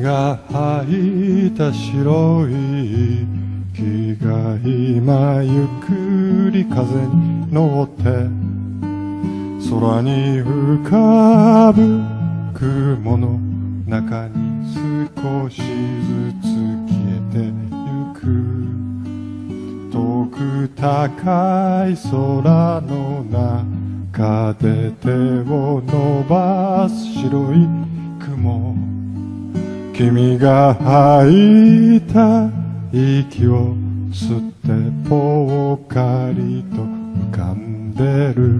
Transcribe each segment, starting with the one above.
が吐いた白い木が今ゆっくり風に乗って空に浮かぶ雲の中に少しずつ消えてゆく。遠く高い空の中で手を伸ばす白い雲、君が吐いた息を吸ってぽっかりと浮かんでる。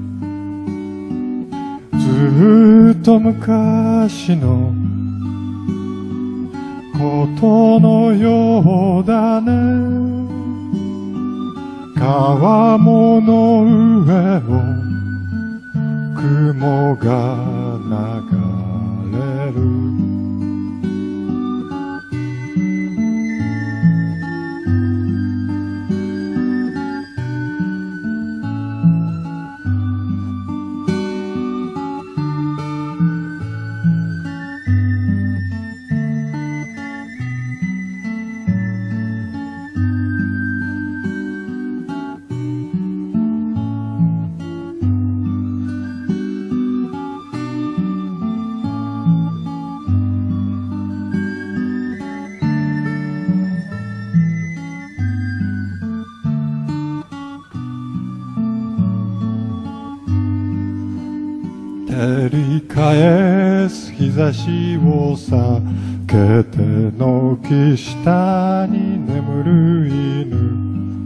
ずっと昔のことのようだね。川面の上を雲が流れる。照り返す日差しを避けて軒下に眠る犬、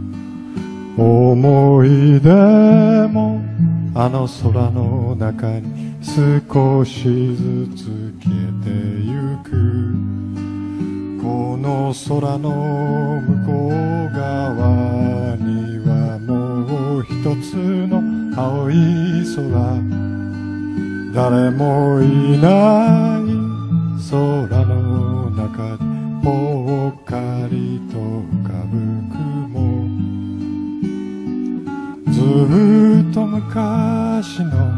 思い出もあの空の中に少しずつ消えてゆく。この空の向こう側にはもう一つの青い空、誰もいない空の中でぽっかりと浮かぶ雲、ずっと昔の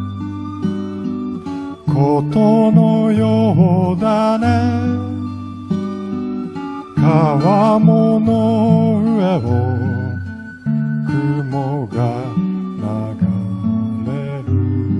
ことのようだね。川面の上を雲が流れる。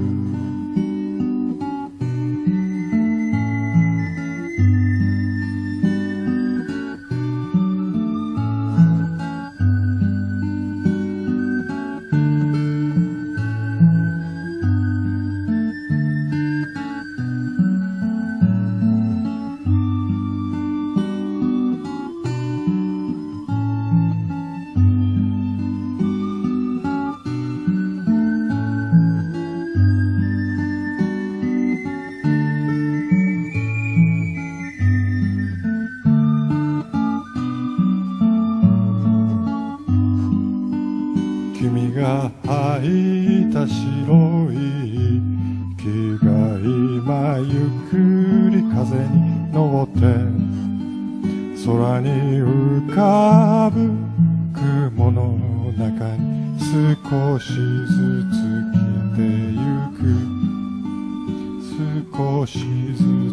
君が吐いた白い木が今ゆっくり風に乗って空に浮かぶ雲の中に少しずつ消えてゆく。少しずつ